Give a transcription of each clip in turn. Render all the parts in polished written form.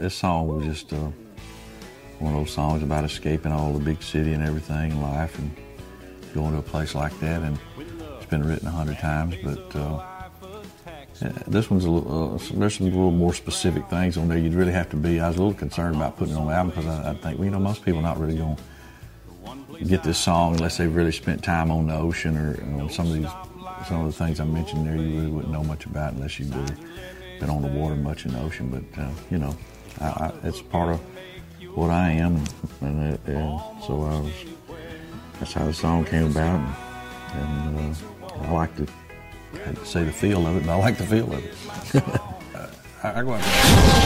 this song was just one of those songs about escaping all the big city and everything in life and going to a place like that. And it's been written 100 times, but this one's there's some little more specific things on there. You'd really have to be. I was a little concerned about putting it on the album because I think, well, most people are not really going to get this song unless they've really spent time on the ocean or some of the things I mentioned there. You really wouldn't know much about unless you've really been on the water much in the ocean. But it's part of what I am, and so that's how the song came about. And I like to. I hate to say the feel of it, but I like the feel of it. I go out.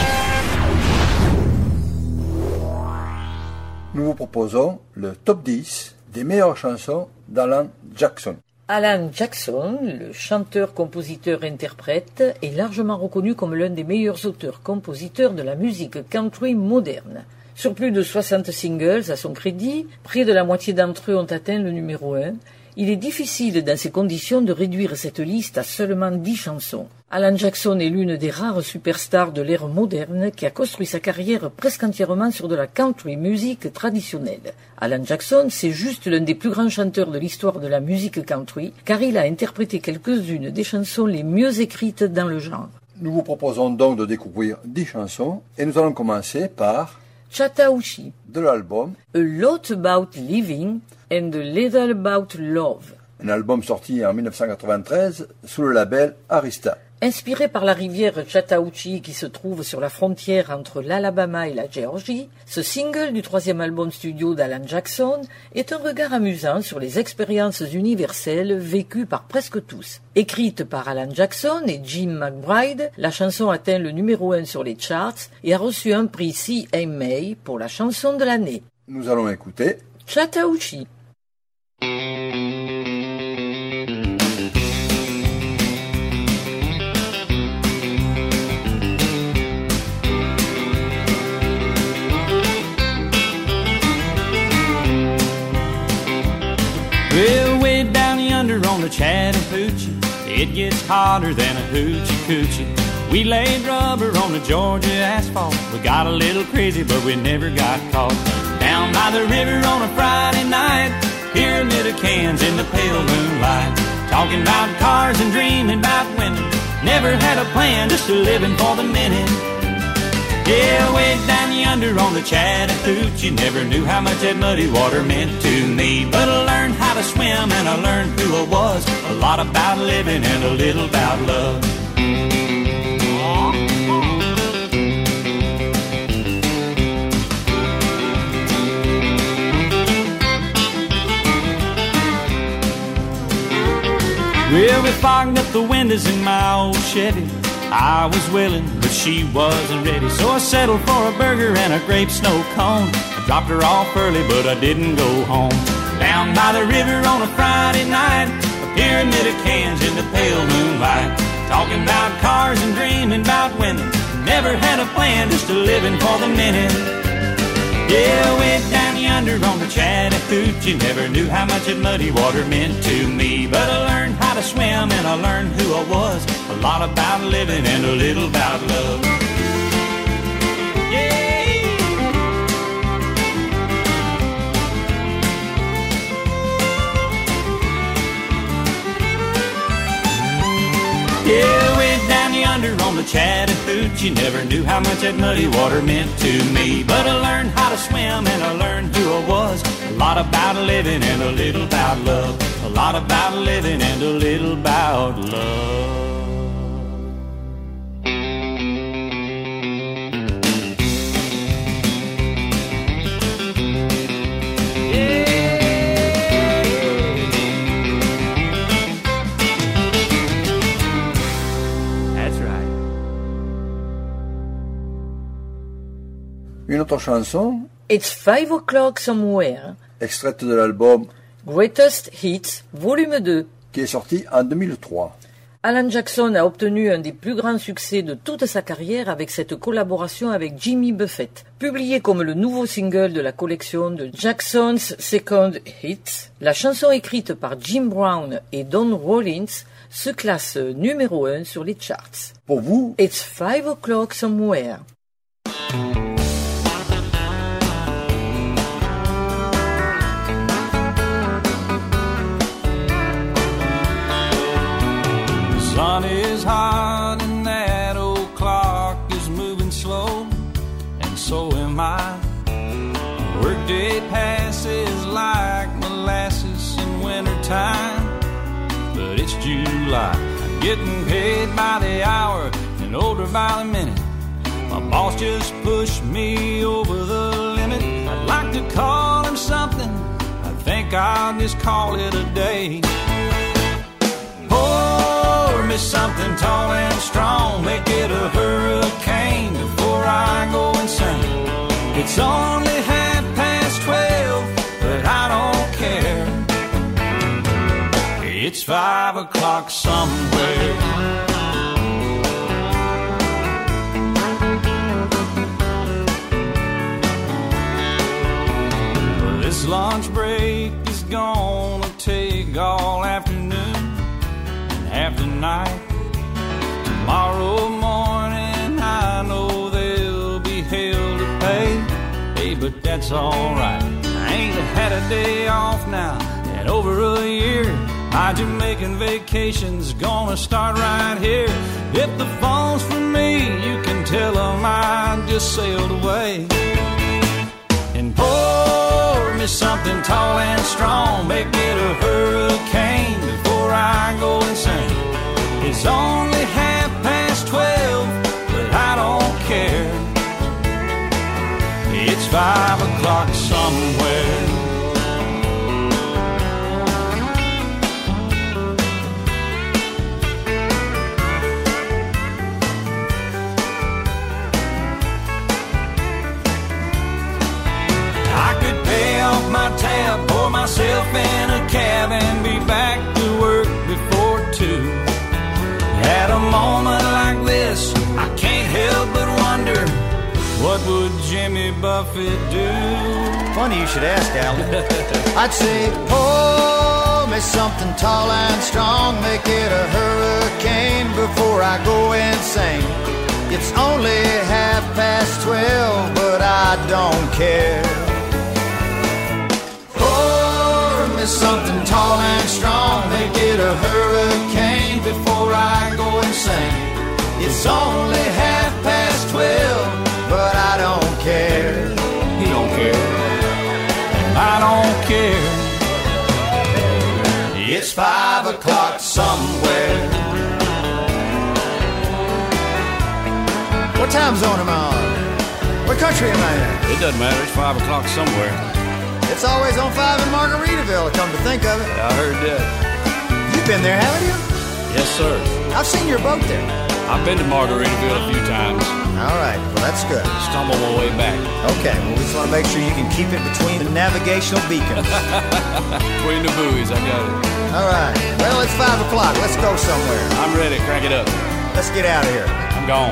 Nous vous proposons le top 10 des meilleures chansons d'Alan Jackson. Alan Jackson, le chanteur, compositeur, interprète, est largement reconnu comme l'un des meilleurs auteurs-compositeurs de la musique country moderne. Sur plus de 60 singles à son crédit, près de la moitié d'entre eux ont atteint le numéro 1. Il est difficile dans ces conditions de réduire cette liste à seulement 10 chansons. Alan Jackson est l'une des rares superstars de l'ère moderne qui a construit sa carrière presque entièrement sur de la country music traditionnelle. Alan Jackson, c'est juste l'un des plus grands chanteurs de l'histoire de la musique country, car il a interprété quelques-unes des chansons les mieux écrites dans le genre. Nous vous proposons donc de découvrir 10 chansons et nous allons commencer par Chattahoochee, de l'album A Lot About Living and A Little About Love. Un album sorti en 1993 sous le label Arista. Inspiré par la rivière Chattahoochee qui se trouve sur la frontière entre l'Alabama et la Géorgie, ce single du 3e album studio d'Alan Jackson est un regard amusant sur les expériences universelles vécues par presque tous. Écrite par Alan Jackson et Jim McBride, la chanson atteint le numéro 1 sur les charts et a reçu un prix CMA pour la chanson de l'année. Nous allons écouter Chattahoochee. Well, way down yonder on the Chattahoochee, it gets hotter than a hoochie coochie. We laid rubber on the Georgia asphalt. We got a little crazy, but we never got caught. Down by the river on a Friday night, pyramid of cans in the pale moonlight. Talking about cars and dreaming about women. Never had a plan, just a living for the minute. Yeah, way down yonder on the Chattahoochee, never knew how much that muddy water meant to me. But I learned how to swim and I learned who I was. A lot about living and a little about love. Well, we fogged up the windows in my old Chevy. I was willing, but she wasn't ready. So I settled for a burger and a grape snow cone. I dropped her off early, but I didn't go home. Down by the river on a Friday night, a pyramid of cans in the pale moonlight. Talking about cars and dreaming about women. Never had a plan, just a living for the minute. Yeah, way down yonder on the Chattahoochee, never knew how much that muddy water meant to me. But I learned how to swim and I learned who I was. A lot about living and a little about love. Yeah. Yeah, way down yonder on the Chattahoochee, never knew how much that muddy water meant to me. But I learned how to swim and I learned who I was. A lot about living and a little about love. A lot about living and a little about love. une autre chanson, It's 5 O'Clock Somewhere, extraite de l'album Greatest Hits, volume 2, qui est sorti en 2003. Alan Jackson a obtenu un des plus grands succès de toute sa carrière avec cette collaboration avec Jimmy Buffett. Publiée comme le nouveau single de la collection de Jackson's Second Hits, la chanson écrite par Jim Brown et Don Rollins se classe numéro 1 sur les charts. Pour vous, It's 5 O'Clock Somewhere. is hot and that old clock is moving slow, and so am I. Workday passes like molasses in wintertime, but it's July. I'm getting paid by the hour and older by the minute. My boss just pushed me over the limit. I'd like to call him something, I think I'll just call it a day. Pour me something tall and strong, make it a hurricane before I go insane. It's only 12:30, but I don't care. It's 5 o'clock somewhere. Well, this lunch break is gonna take all afternoon and half the night. Tomorrow morning I know there'll be hell to pay. Hey, but that's alright. I ain't had a day off now in over a year. My Jamaican vacation's gonna start right here. If the phone's for me, you can tell them I just sailed away. And pour me something tall and strong, make it a hurricane before I go insane. It's only 12:30, but I don't care. It's 5 o'clock somewhere. I could pay off my tab, pour myself in a cab, and be back to work before 2. At a moment like this, I can't help but wonder, what would Jimmy Buffett do? Funny you should ask, Alan. I'd say, pour me something tall and strong, make it a hurricane before I go insane. It's only 12:30, but I don't care. Pour me something tall and strong, make it a hurricane before I go insane. It's only 12:30, but I don't care. He don't care, and I don't care. It's 5 o'clock somewhere. What time zone am I on? What country am I in? It doesn't matter, it's 5 o'clock somewhere. It's always on 5 in Margaritaville, come to think of it. I heard that. You've been there, haven't you? Yes, sir. I've seen your boat there. I've been to Margaritaville a few times. All right, well, that's good. Stumbled my way back. Okay, well, we just want to make sure you can keep it between the navigational beacons. Between the buoys, I got it. All right, well, it's 5 o'clock. Let's go somewhere. I'm ready, crank it up. Let's get out of here. I'm gone.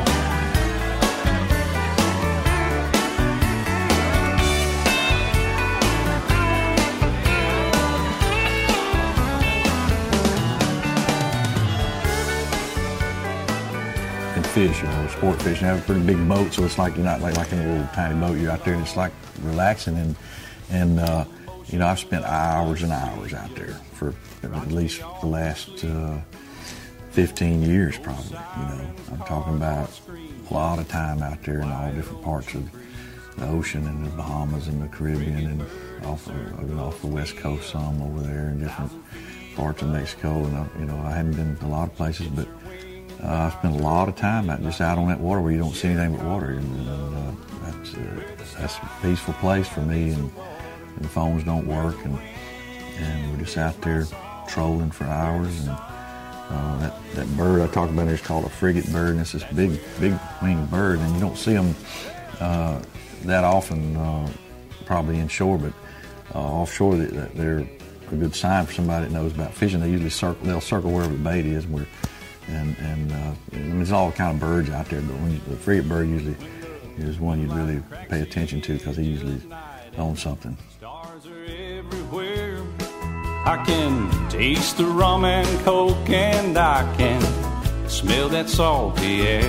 Fish, sport fishing. Have a pretty big boat, so it's like you're not like in a little tiny boat. You're out there, and it's like relaxing. And I've spent hours and hours out there for at least the last 15 years, probably. I'm talking about a lot of time out there in all different parts of the ocean, and the Bahamas and the Caribbean, and off the West Coast, some over there in different parts of Mexico. And I haven't been to a lot of places, but I spent a lot of time just out on that water where you don't see anything but water, and that's a peaceful place for me. And the phones don't work, and we're just out there trolling for hours. And that bird I talked about there is called a frigate bird, and it's this big winged bird, and you don't see them that often, probably inshore, but offshore they're a good sign for somebody that knows about fishing. They'll circle wherever the bait is, and there's all kind of birds out there, but the frigate bird usually is one you really pay attention to, because he usually owns something. Stars are everywhere. I can taste the rum and coke, and I can smell that salty air.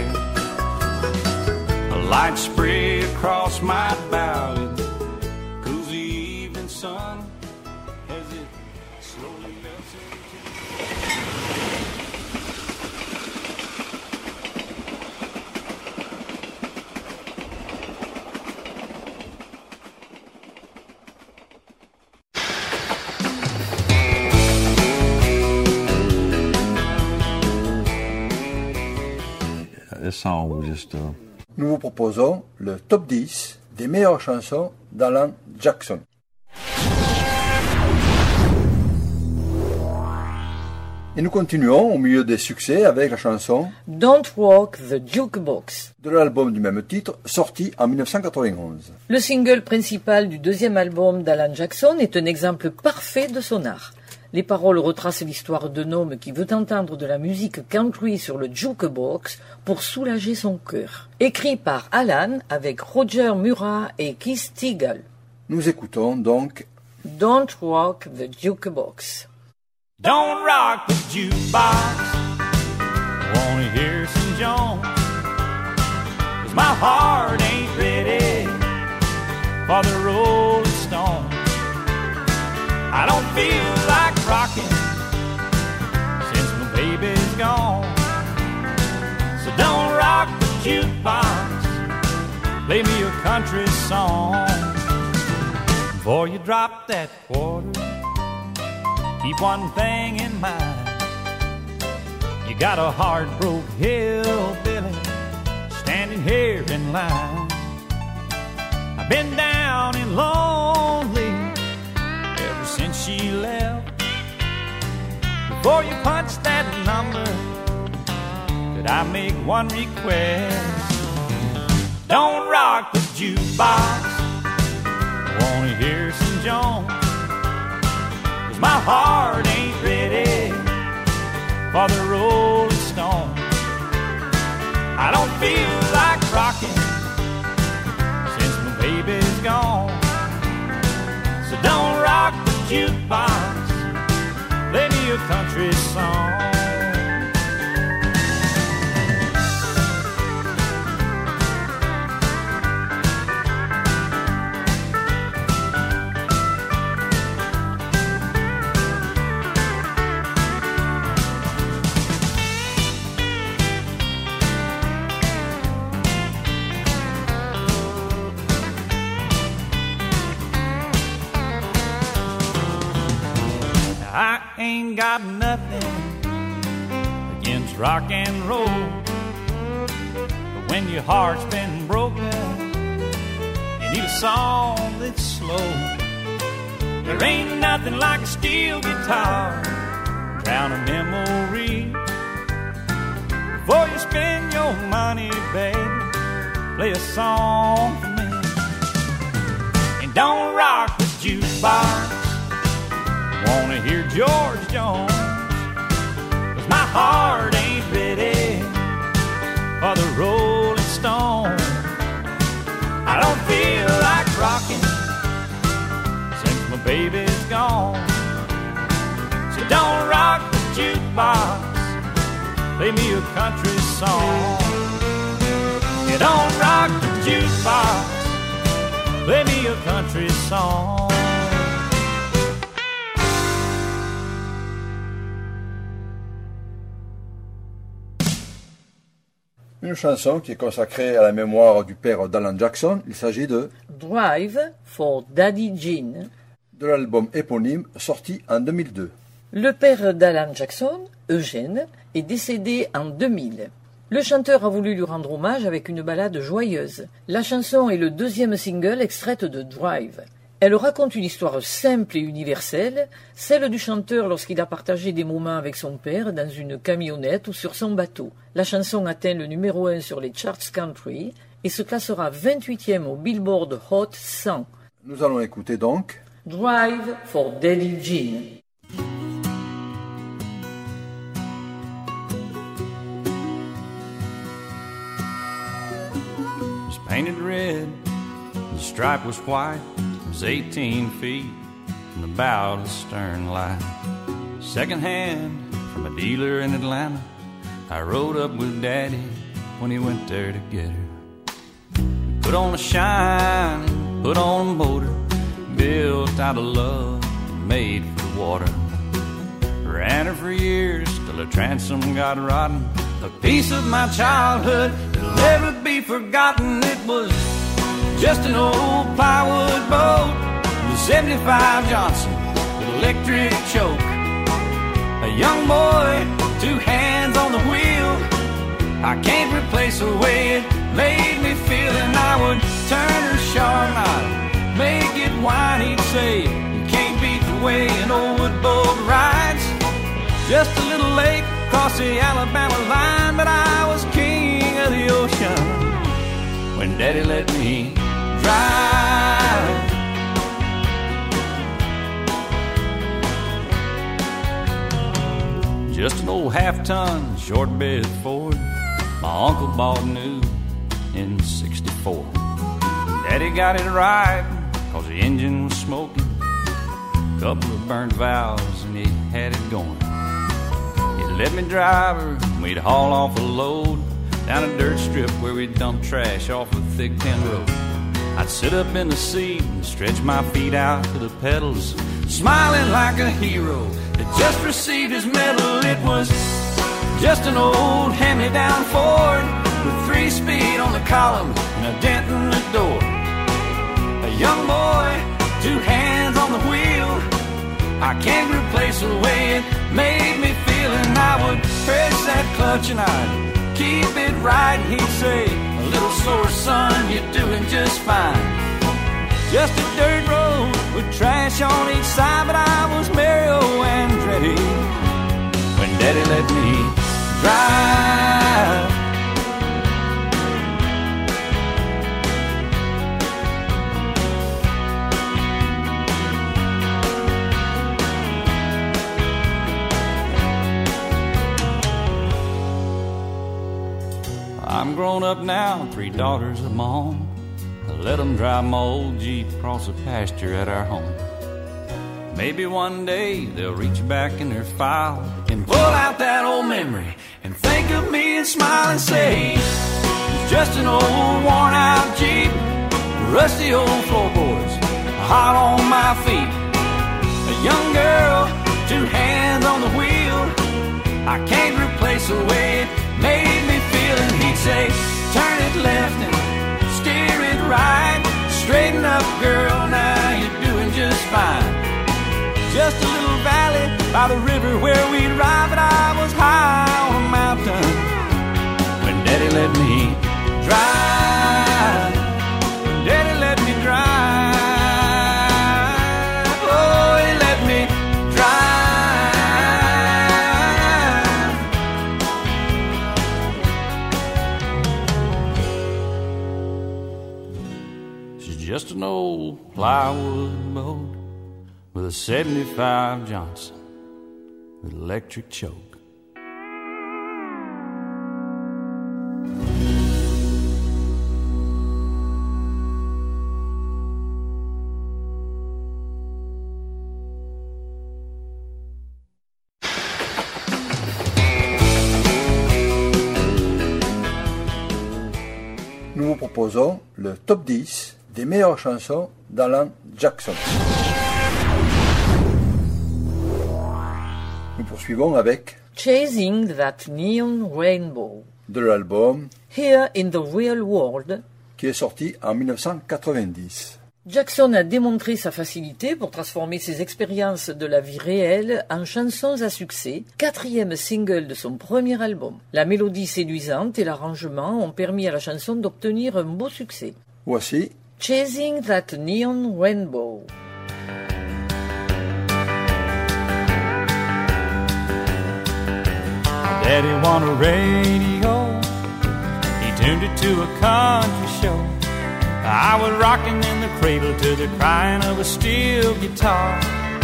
A light spray across my bow, it cools the evening sun as it slowly melts into. this song was just. Nous vous proposons le top 10 des meilleures chansons d'Alan Jackson. Et nous continuons au milieu des succès avec la chanson Don't Rock the Jukebox de l'album du même titre, sorti en 1991. Le single principal du deuxième album d'Alan Jackson est un exemple parfait de son art. Les paroles retracent l'histoire d'un homme qui veut entendre de la musique country sur le jukebox pour soulager son cœur. Écrit par Alan avec Roger Murrah et Keith Teagle. Nous écoutons donc Don't Rock the Jukebox. Don't rock the jukebox, wanna hear some Jones, 'cause my heart ain't ready for the Rolling Stones. I don't feel like rocking since my baby's gone. So don't rock the jukebox, play me a country song. Before you drop that quarter, keep one thing in mind. You got a heart-broke hillbilly standing here in line. I've been down and lonely ever since she left. Before you punch that number, could I make one request? Don't rock the jukebox, I wanna hear some Jones. My heart ain't ready for the Rolling Stones. I don't feel like rocking since my baby's gone. So don't rock the jukebox, play me a country song. I ain't got nothing against rock and roll, but when your heart's been broken, you need a song that's slow. There ain't nothing like a steel guitar, drown a memory. Before you spend your money, baby, play a song for me. And don't rock the jukebox, wanna hear George Jones, 'cause my heart ain't ready for the Rolling Stones. I don't feel like rocking since my baby's gone. So don't rock the jukebox, play me a country song. You don't rock the jukebox, play me a country song. une chanson qui est consacrée à la mémoire du père d'Alan Jackson. Il s'agit de Drive for Daddy Gene, de l'album éponyme sorti en 2002. Le père d'Alan Jackson, Eugène, est décédé en 2000. Le chanteur a voulu lui rendre hommage avec une ballade joyeuse. La chanson est le deuxième single extraite de Drive. Elle raconte une histoire simple et universelle, celle du chanteur lorsqu'il a partagé des moments avec son père dans une camionnette ou sur son bateau. La chanson atteint le numéro 1 sur les charts country et se classera 28e au Billboard Hot 100. Nous allons écouter donc Drive for Daddy Gene. It's painted red, the stripe was white. It was 18 feet from the bow to the stern light. Second hand from a dealer in Atlanta. I rode up with Daddy when he went there to get her. Put on a shine, put on a motor, built out of love and made for the water. Ran her for years till her transom got rotten. A piece of my childhood that'll never be forgotten. It was just an old plywood boat with a 75 Johnson with electric choke. A young boy, two hands on the wheel, I can't replace the way it made me feel. And I would turn her sharp, I'd make it whine. He'd say, you can't beat the way an old wood boat rides. Just a little lake across the Alabama line, but I was king of the ocean when Daddy let me drive. Just an old half-ton short bed Ford my uncle bought new in '64. Daddy got it right, cause the engine was smoking, couple of burnt valves, and he had it going. He let me drive her, and we'd haul off a load down a dirt strip where we'd dump trash off a thick tin road. I'd sit up in the seat and stretch my feet out to the pedals, smiling like a hero that just received his medal. It was just an old hand-me-down Ford with 3-speed on the column and a dent in the door. A young boy, 2 hands on the wheel. I can't replace the way it made me feel. And I would press that clutch and I'd keep it right. And he'd say, a little sore son, you're doing just fine. Just a dirt road with trash on each side, but I was Mario Andretti when Daddy let me drive. I'm grown up now, 3 daughters of my own. I let them drive my old Jeep across the pasture at our home. Maybe one day they'll reach back in their file and pull out that old memory and think of me and smile and say, it's just an old worn out Jeep, rusty old floorboards, hot on my feet. A young girl, 2 hands on the wheel. I can't replace the way it made me feel. And he'd say, turn it left and steer it right. Straighten up, girl, now you're doing just fine. Just a little valley by the river where we'd ride, but I was high on a mountain when Daddy let me drive. When Daddy let me drive. Oh, he let me drive. She's just an old plywood boat with a 75 Johnson with electric choke. Nous vous proposons le top 10 des meilleures chansons d'Alan Jackson. Nous poursuivons avec Chasing That Neon Rainbow de l'album Here in the Real World, qui est sorti en 1990. Jackson a démontré sa facilité pour transformer ses expériences de la vie réelle en chansons à succès, 4e single de son premier album. La mélodie séduisante et l'arrangement ont permis à la chanson d'obtenir un beau succès. Voici Chasing That Neon Rainbow. Daddy won a radio, he tuned it to a country show. I was rocking in the cradle to the crying of a steel guitar.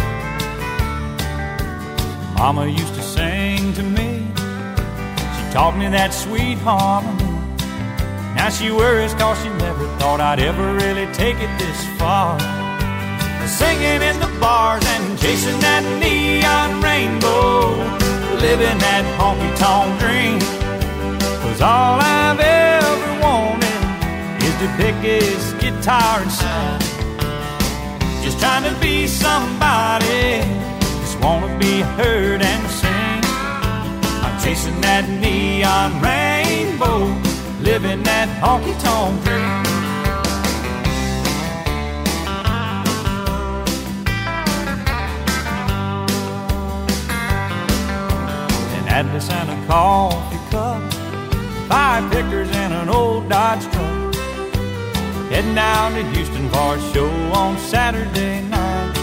Mama used to sing to me, she taught me that sweet harmony. Now she worries cause she never thought I'd ever really take it this far. Singing in the bars and chasing that neon rainbow, living that honky-tonk dream. 'Cause all I've ever wanted is to pick his guitar and sing. Just trying to be somebody, just wanna be heard and sing. I'm chasing that neon rainbow, living that honky-tonk dream. Had this in a coffee cup, 5 pickers and an old Dodge truck, heading down to Houston for a show on Saturday night.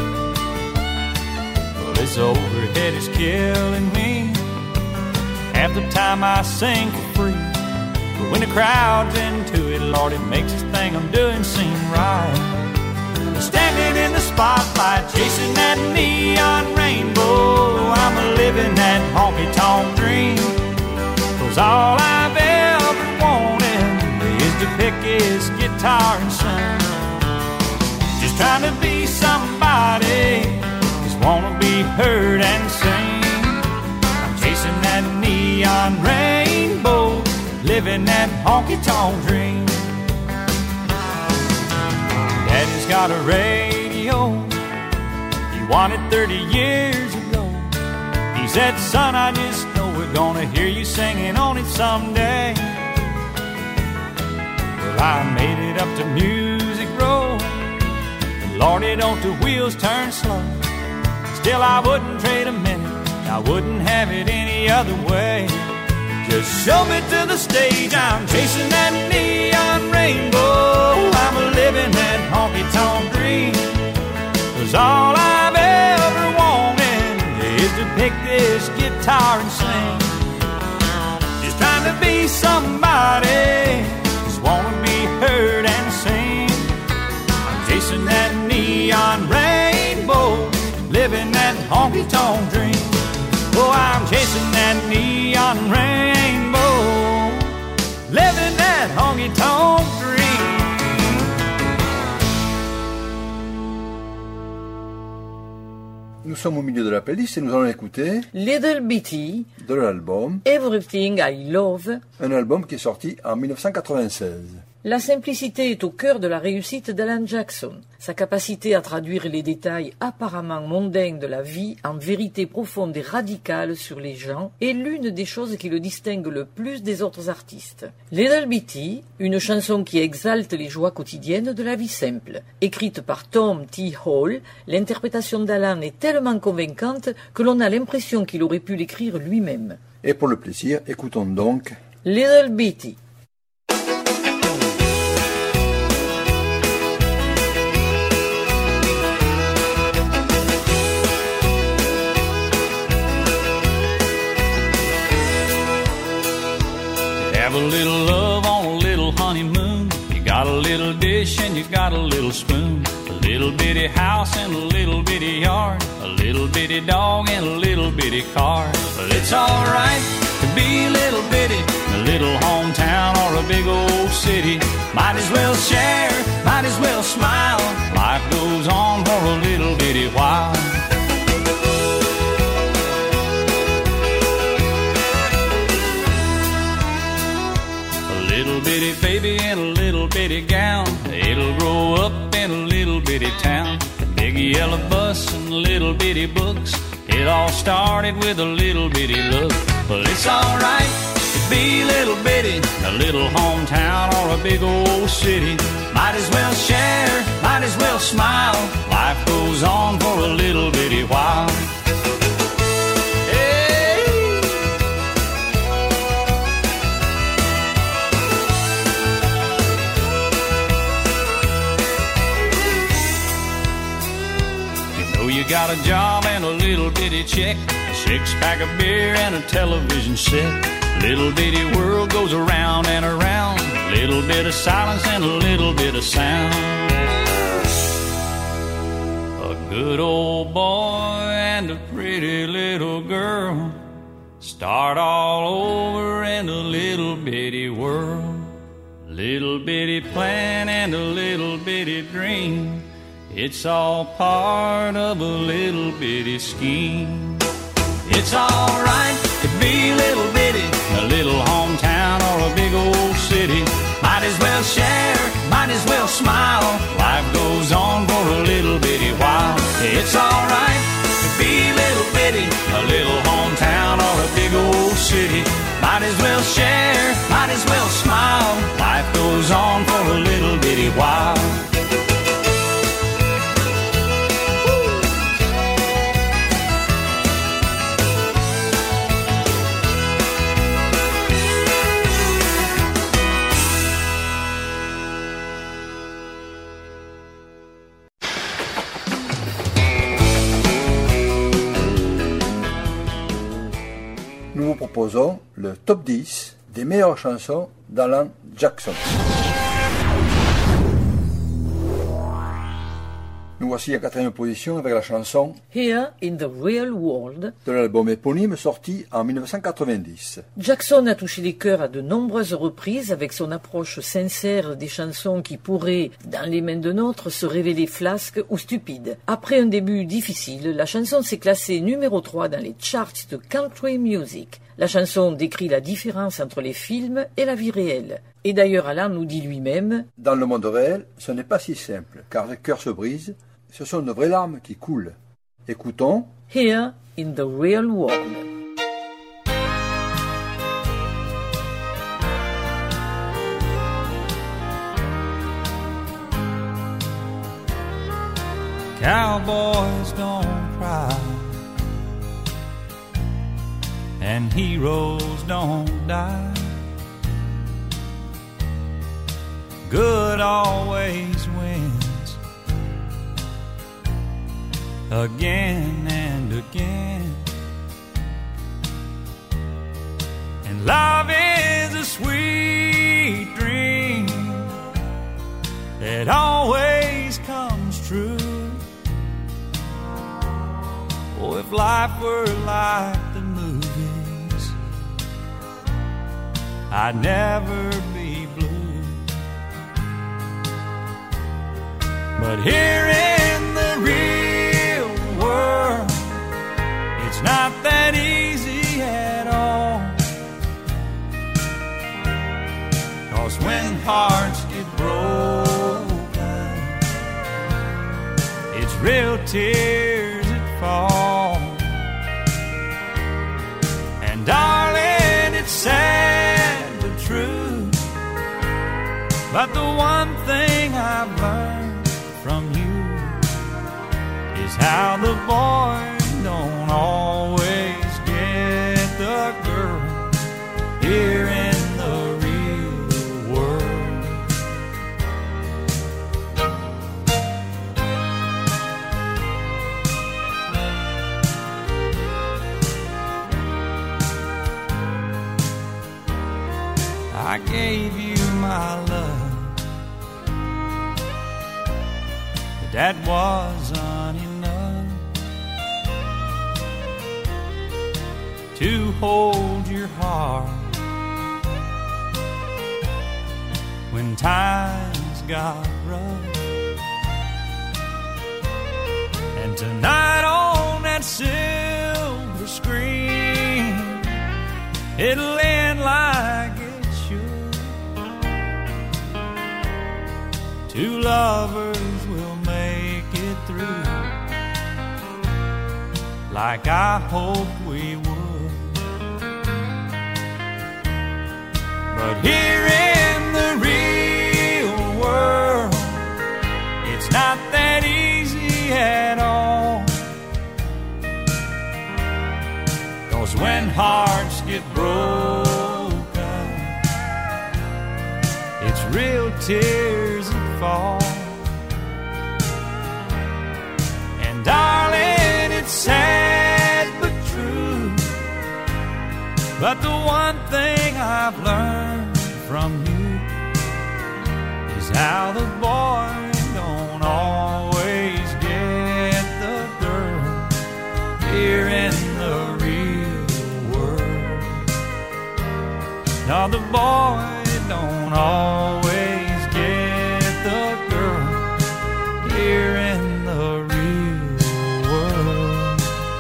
Well, this overhead is killing me. Half the time I sing for free, but when the crowd's into it, Lord, it makes this thing I'm doing seem right. Standing in the spotlight, chasing that neon rainbow, I'm living that honky-tonk dream. 'Cause all I've ever wanted is to pick his guitar and sing. Just trying to be somebody, just wanna be heard and sing. I'm chasing that neon rainbow, living that honky-tonk dream. Daddy's got a radio he wanted 30 years ago. He said, son, I just know we're gonna hear you singing on it someday. Well, I made it up to Music Row. Lordy, don't the wheels turn slow. Still, I wouldn't trade a minute, I wouldn't have it any other way. Just show me to the stage, I'm chasing that neon rainbow. I'm living that honky-tonk dream. 'Cause all I've ever wanted is to pick this guitar and sing. Just trying to be somebody, just wanna be heard and sing. I'm chasing that neon rainbow, living that honky-tonk dream. Oh, I'm chasing that neon rainbow, living that honky-tonk dream. Nous sommes au milieu de la playlist et nous allons écouter Little Bitty, de l'album, Everything I Love. un album qui est sorti en 1996. La simplicité est au cœur de la réussite d'Alan Jackson. Sa capacité à traduire les détails apparemment mondains de la vie en vérité profonde et radicale sur les gens est l'une des choses qui le distingue le plus des autres artistes. Little Bitty, une chanson qui exalte les joies quotidiennes de la vie simple. Écrite par Tom T. Hall, l'interprétation d'Alan est tellement convaincante que l'on a l'impression qu'il aurait pu l'écrire lui-même. Et pour le plaisir, écoutons donc Little Bitty. Have a little love on a little honeymoon. You got a little dish and you got a little spoon. A little bitty house and a little bitty yard. A little bitty dog and a little bitty car. But it's alright to be a little bitty in a little hometown or a big old city. Might as well share, might as well smile. Life goes on for a little bitty while. Little bitty baby in a little bitty gown. It'll grow up in a little bitty town. Big yellow bus and little bitty books. It all started with a little bitty look. Well, it's alright to be little bitty in a little hometown or a big old city. Might as well share, might as well smile. Life goes on for a little bitty while. You got a job and a little bitty check, a 6-pack of beer and a television set. Little bitty world goes around and around. Little bit of silence and a little bit of sound. A good old boy and a pretty little girl start all over in a little bitty world. Little bitty plan and a little bitty dream. It's all part of a little bitty scheme. It's alright to be little bitty in a little hometown or a big old city. Might as well share, might as well smile. Life goes on for a little bitty while. It's alright to be little bitty in a little hometown or a big old city. Might as well share, might as well smile. Life goes on for a little bitty while. nous vous proposons le top 10 des meilleures chansons d'Alan Jackson. Nous voici à 4e position avec la chanson Here in the Real World. de l'album éponyme sorti en 1990. Jackson a touché les cœurs à de nombreuses reprises avec son approche sincère des chansons qui pourraient, dans les mains d'un autre, se révéler flasques ou stupides. Après un début difficile, la chanson s'est classée numéro 3 dans les charts de country music. La chanson décrit la différence entre les films et la vie réelle. Et d'ailleurs, Alan nous dit lui-même « Dans le monde réel, ce n'est pas si simple, car les cœurs se brisent, ce sont de vraies larmes qui coulent. » Écoutons « Here in the Real World ». Cowboys don't cry, and heroes don't die. Good always wins, again and again. And love is a sweet dream that always comes true. Oh, if life were like the movies, I'd never be blue. But here in the real world, it's not that easy at all. 'Cause when hearts get broken, it's real tears that fall. And darling, it's sad but true, but the one thing I've learned from you is how the boy don't always get the girl here in the real world. I gave you my love, that wasn't enough to hold your heart when times got rough. And tonight on that silver screen, it'll end like it should. Two lovers will make it through like I hoped we would. But here in the real world, it's not that easy at all. 'Cause when hearts get broken, it's real tears that fall. And darling, it's sad but true, but the one thing I've learned from you is how the boy don't always get the girl here in the real world. No, the boy don't always get the girl here in the real world.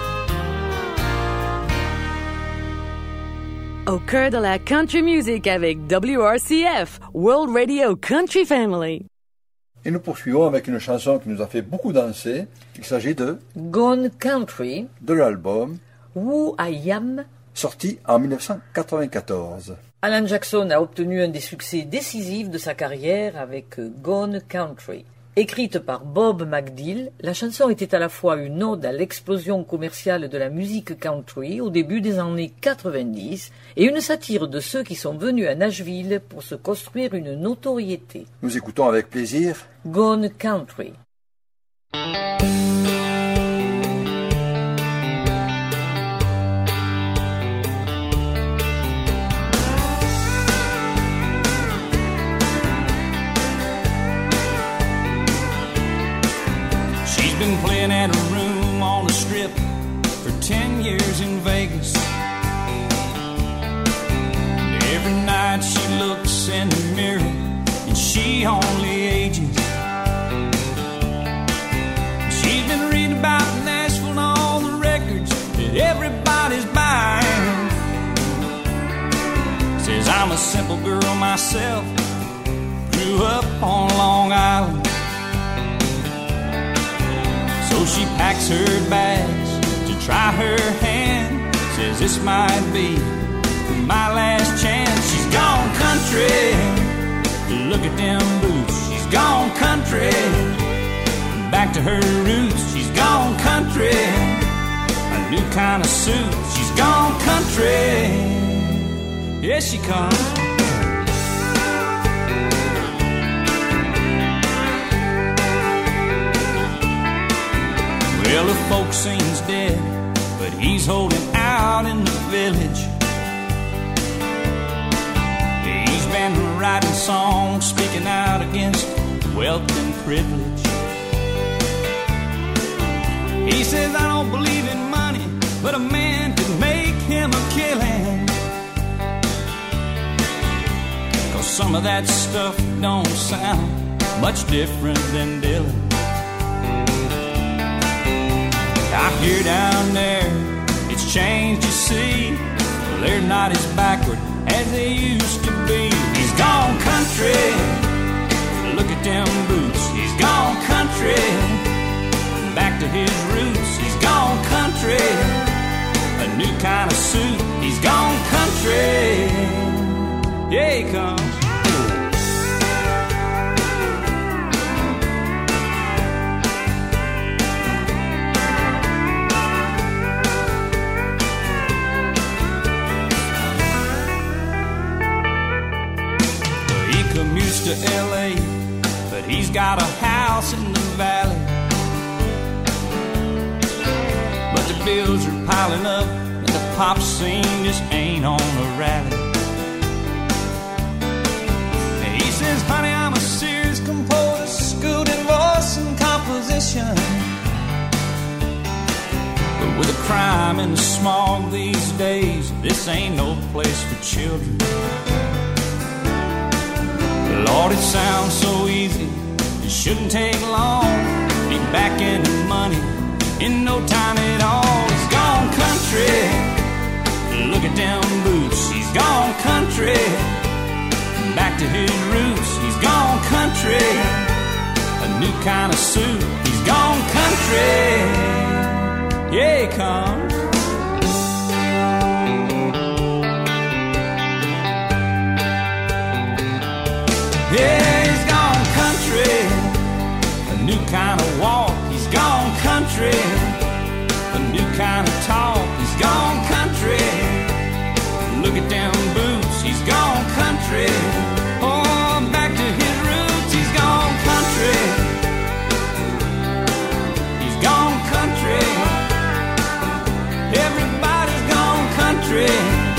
Au cœur de la country music avec WRCF, World Radio Country Family. Et nous poursuivons avec une chanson qui nous a fait beaucoup danser. Il s'agit de Gone Country, de l'album Who I Am. sorti en 1994. Alan Jackson a obtenu un des succès décisifs de sa carrière avec Gone Country. Écrite par Bob McDill, la chanson était à la fois une ode à l'explosion commerciale de la musique country au début des années 90 et une satire de ceux qui sont venus à Nashville pour se construire une notoriété. Nous écoutons avec plaisir Gone Country. simple girl myself, grew up on Long Island. So she packs her bags to try her hand, says this might be my last chance. She's gone country, look at them boots. She's gone country, back to her roots. She's gone country, a new kind of suit. She's gone country, here she comes. Well, the folk sings dead, but he's holding out in the village. He's been writing songs, speaking out against wealth and privilege. He says, I don't believe in money, but a man could make him a killing. 'Cause some of that stuff don't sound much different than Dylan. Out here down there, it's changed, you see. They're not as backward as they used to be. He's gone country, look at them boots. He's gone country, back to his roots. He's gone country, a new kind of suit. He's gone country, yeah, he comes. To LA, but he's got a house in the valley. But the bills are piling up, and the pop scene just ain't on a rally. And he says, honey, I'm a serious composer, schooled in voice and composition. But with the crime and the smog these days, this ain't no place for children. Lord, it sounds so easy, it shouldn't take long. Be back in the money in no time at all. He's gone country, look at them boots. He's gone country, back to his roots. He's gone country, a new kind of suit. He's gone country, yeah, he comes. Yeah, he's gone country, a new kind of walk. He's gone country, a new kind of talk. He's gone country, look at them boots. He's gone country, oh, back to his roots. He's gone country, he's gone country. Everybody's gone country,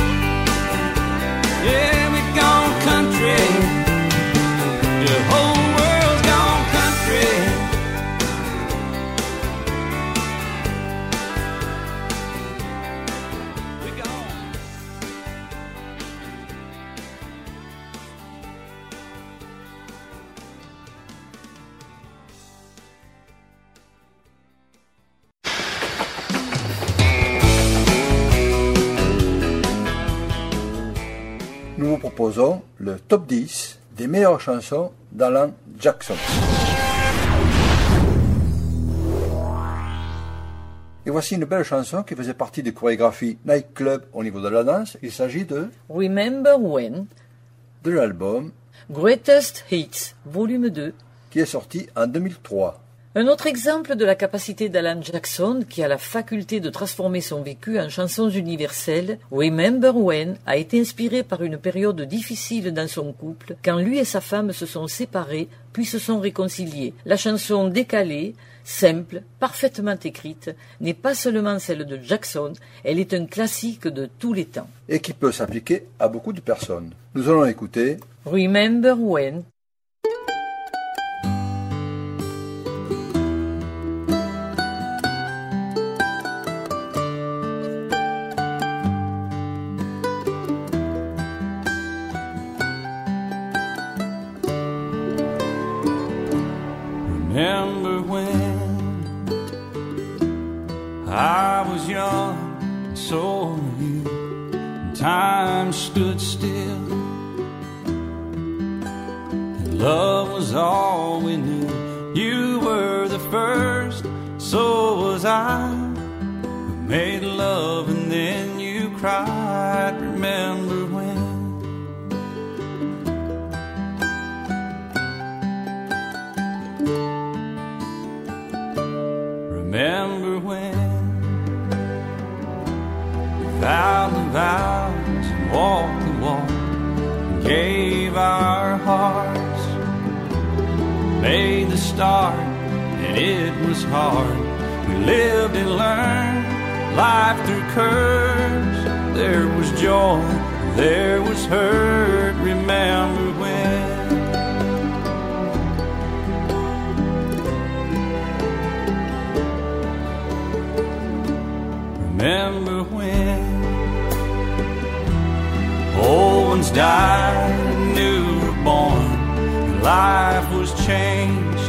yeah, we're gone country. The whole world's gone country. We're gone. Nous vous proposons le top 10 des meilleures chansons d'Alan Jackson. Et voici une belle chanson qui faisait partie des chorégraphies Nightclub au niveau de la danse. Il s'agit de Remember When, de l'album Greatest Hits, volume 2. qui est sorti en 2003. Un autre exemple de la capacité d'Alan Jackson, qui a la faculté de transformer son vécu en chansons universelles, Remember When a été inspiré par une période difficile dans son couple, quand lui et sa femme se sont séparés, puis se sont réconciliés. La chanson décalée, simple, parfaitement écrite, n'est pas seulement celle de Jackson, elle est un classique de tous les temps. Et qui peut s'appliquer à beaucoup de personnes. Nous allons écouter Remember When. Remember when I was young and so were you, and time stood still love was all we knew. You were the first, so was I. We made love and then you cried. Remember when? Remember when we vowed the vows and walked the walk and gave our hearts, made the start and it was hard. We lived and learned life through curves. There was joy, there was hurt. Remember when? Remember when old ones died and new were born, and life was changed,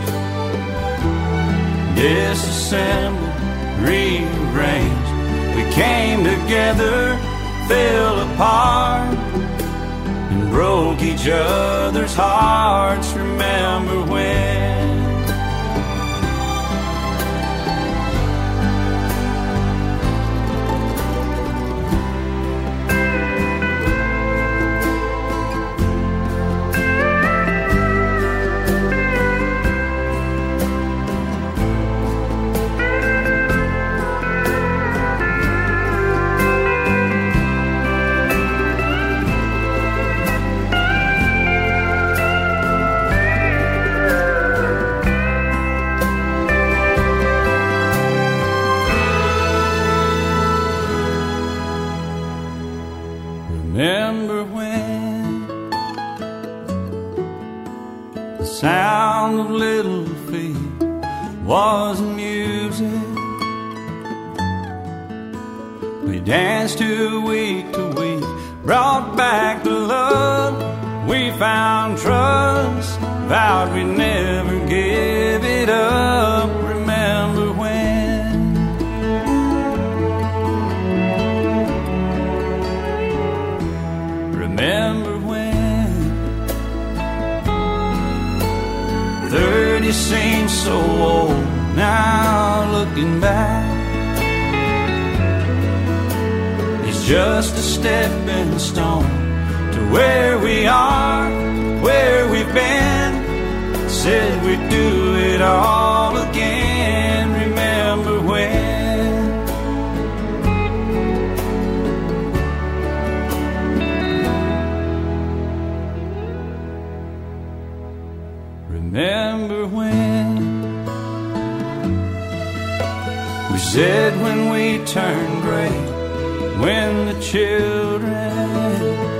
disassembled, rearranged. We came together, fell apart, and broke each other's hearts. Remember when? Remember when the sound of little feet was music? We danced to week, brought back the love. We found trust, vowed we'd never give it up. Remember when? Remember when 30 seems so old now, looking back. It's just a stepping stone to where we are, where we've been. Said we'd do it all again. Remember when? Remember when we said when we turn gray, when the children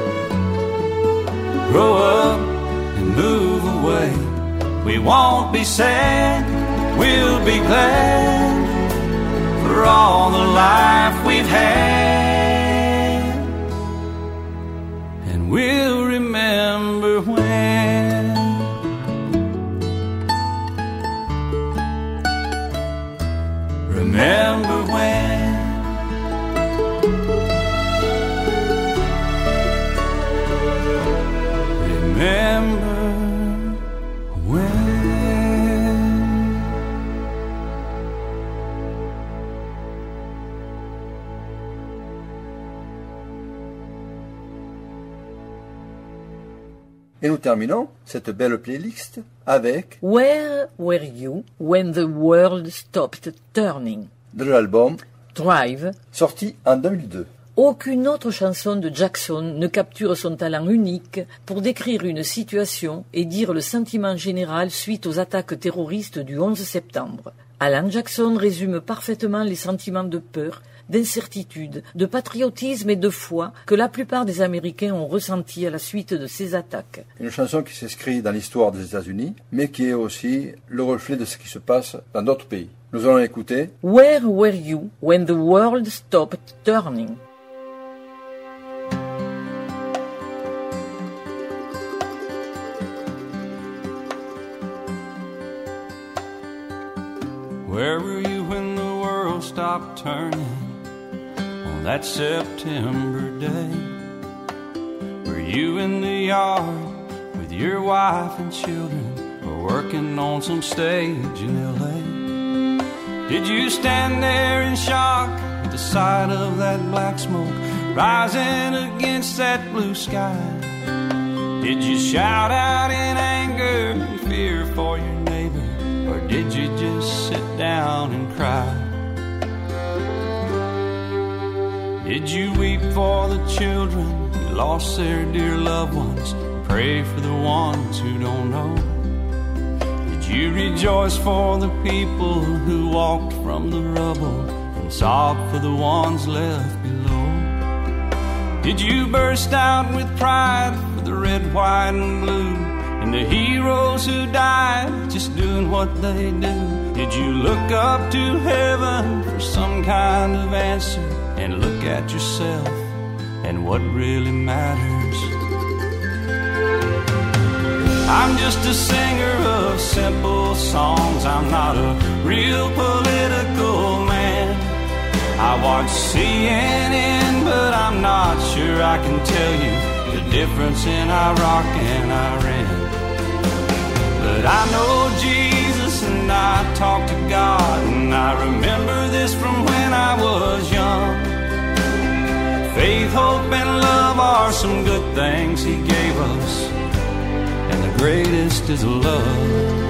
grow up and move away, we won't be sad, we'll be glad for all the life we've had, and we'll remember when. Remember when? Remember when? Et nous terminons cette belle playlist avec Where Were You When the World Stopped Turning, de l'album Drive. sorti en 2002. Aucune autre chanson de Jackson ne capture son talent unique pour décrire une situation et dire le sentiment général suite aux attaques terroristes du 11 septembre. Alan Jackson résume parfaitement les sentiments de peur, d'incertitude, de patriotisme et de foi que la plupart des Américains ont ressentis à la suite de ces attaques. Une chanson qui s'inscrit dans l'histoire des États-Unis, mais qui est aussi le reflet de ce qui se passe dans d'autres pays. Nous allons écouter Where Were You When the World Stopped Turning? Where were you when the world stopped turning on that September day? Were you in the yard with with your wife and children, or working on some stage in L.A.? Did you stand there in shock at the sight of that black smoke rising against that blue sky? Did you shout out in anger and fear for your neighbor, or did you just sit down and cry? Did you weep for the children who lost their dear loved ones, pray for the ones who don't know? Did you rejoice for the people who walked from the rubble and sob for the ones left below? Did you burst out with pride for the red, white, and blue, and the heroes who died just doing what they do? Did you look up to heaven for some kind of answer and look at yourself and what really matters? I'm just a singer of simple songs. I'm not a real political man. I watch CNN, but I'm not sure I can tell you the difference in Iraq and Iran. But I know Jesus and I talk to God, and I remember this from when I was young. Faith, hope, and love are some good things He gave us, and the greatest is love.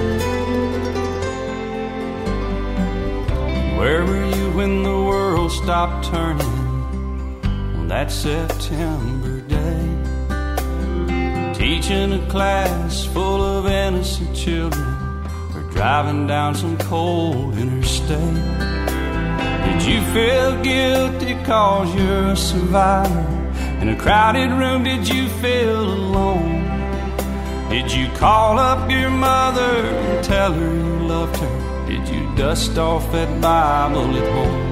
Where were you when the world stopped turning on that September day? Teaching a class full of innocent children, or driving down some cold interstate? Did you feel guilty cause you're a survivor? In a crowded room, did you feel alone? Did you call up your mother and tell her you loved her? Did you dust off that Bible at home?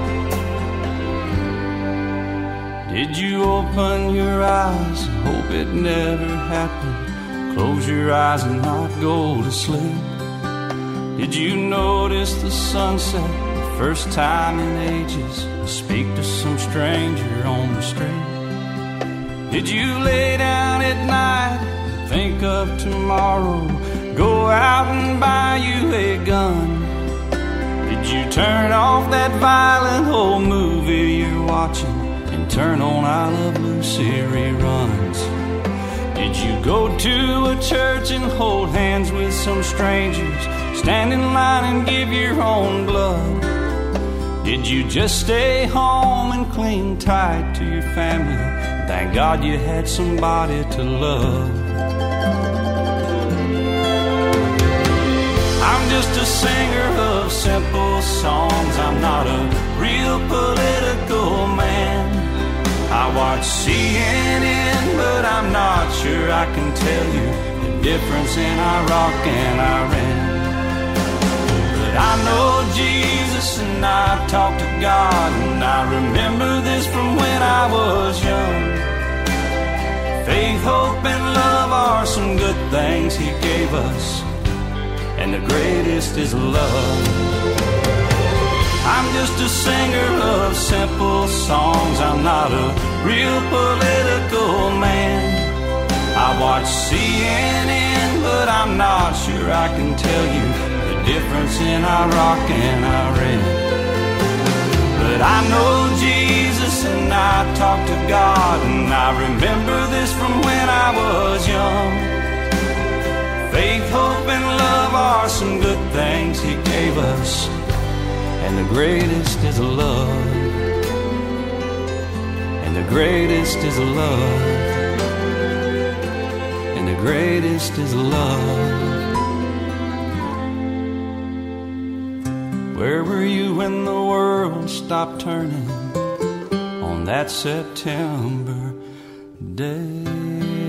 Did you open your eyes and hope it never happened? Close your eyes and not go to sleep? Did you notice the sunset the first time in ages, and speak to some stranger on the street? Did you lay down at night and think of tomorrow, go out and buy you a gun? Did you turn off that violent old movie you're watching and turn on I Love Lucy reruns? Did you go to a church and hold hands with some strangers, stand in line and give your own blood? Did you just stay home and cling tight to your family? Thank God you had somebody to love. I'm just a singer of simple songs. I'm not a real political man. I watch CNN, but I'm not sure I can tell you the difference in Iraq and Iran. But I know Jesus and I talk to God, and I remember this from when I was young. Faith, hope, and love are some good things He gave us, and the greatest is love. I'm just a singer of simple songs. I'm not a real political man. I watch CNN, but I'm not sure I can tell you the difference in Iraq and Iran. But I know Jesus and I talk to God, and I remember this from when I was young. Faith, hope, and love are some good things He gave us, and the greatest is love. And the greatest is love. And the greatest is love. Where were you when the world stopped turning on that September day?